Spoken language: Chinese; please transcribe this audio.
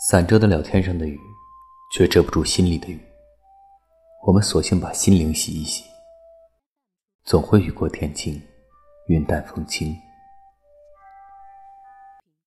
伞遮得了天上的雨，却遮不住心里的雨。我们索性把心灵洗一洗，总会雨过天晴，云淡风轻。